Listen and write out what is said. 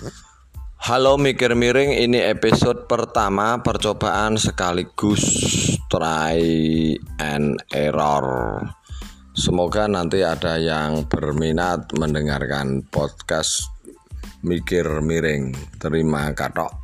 Halo Mikir Miring, ini episode pertama percobaan sekaligus try and error. Semoga nanti ada yang berminat mendengarkan podcast Mikir Miring. Terima kasih.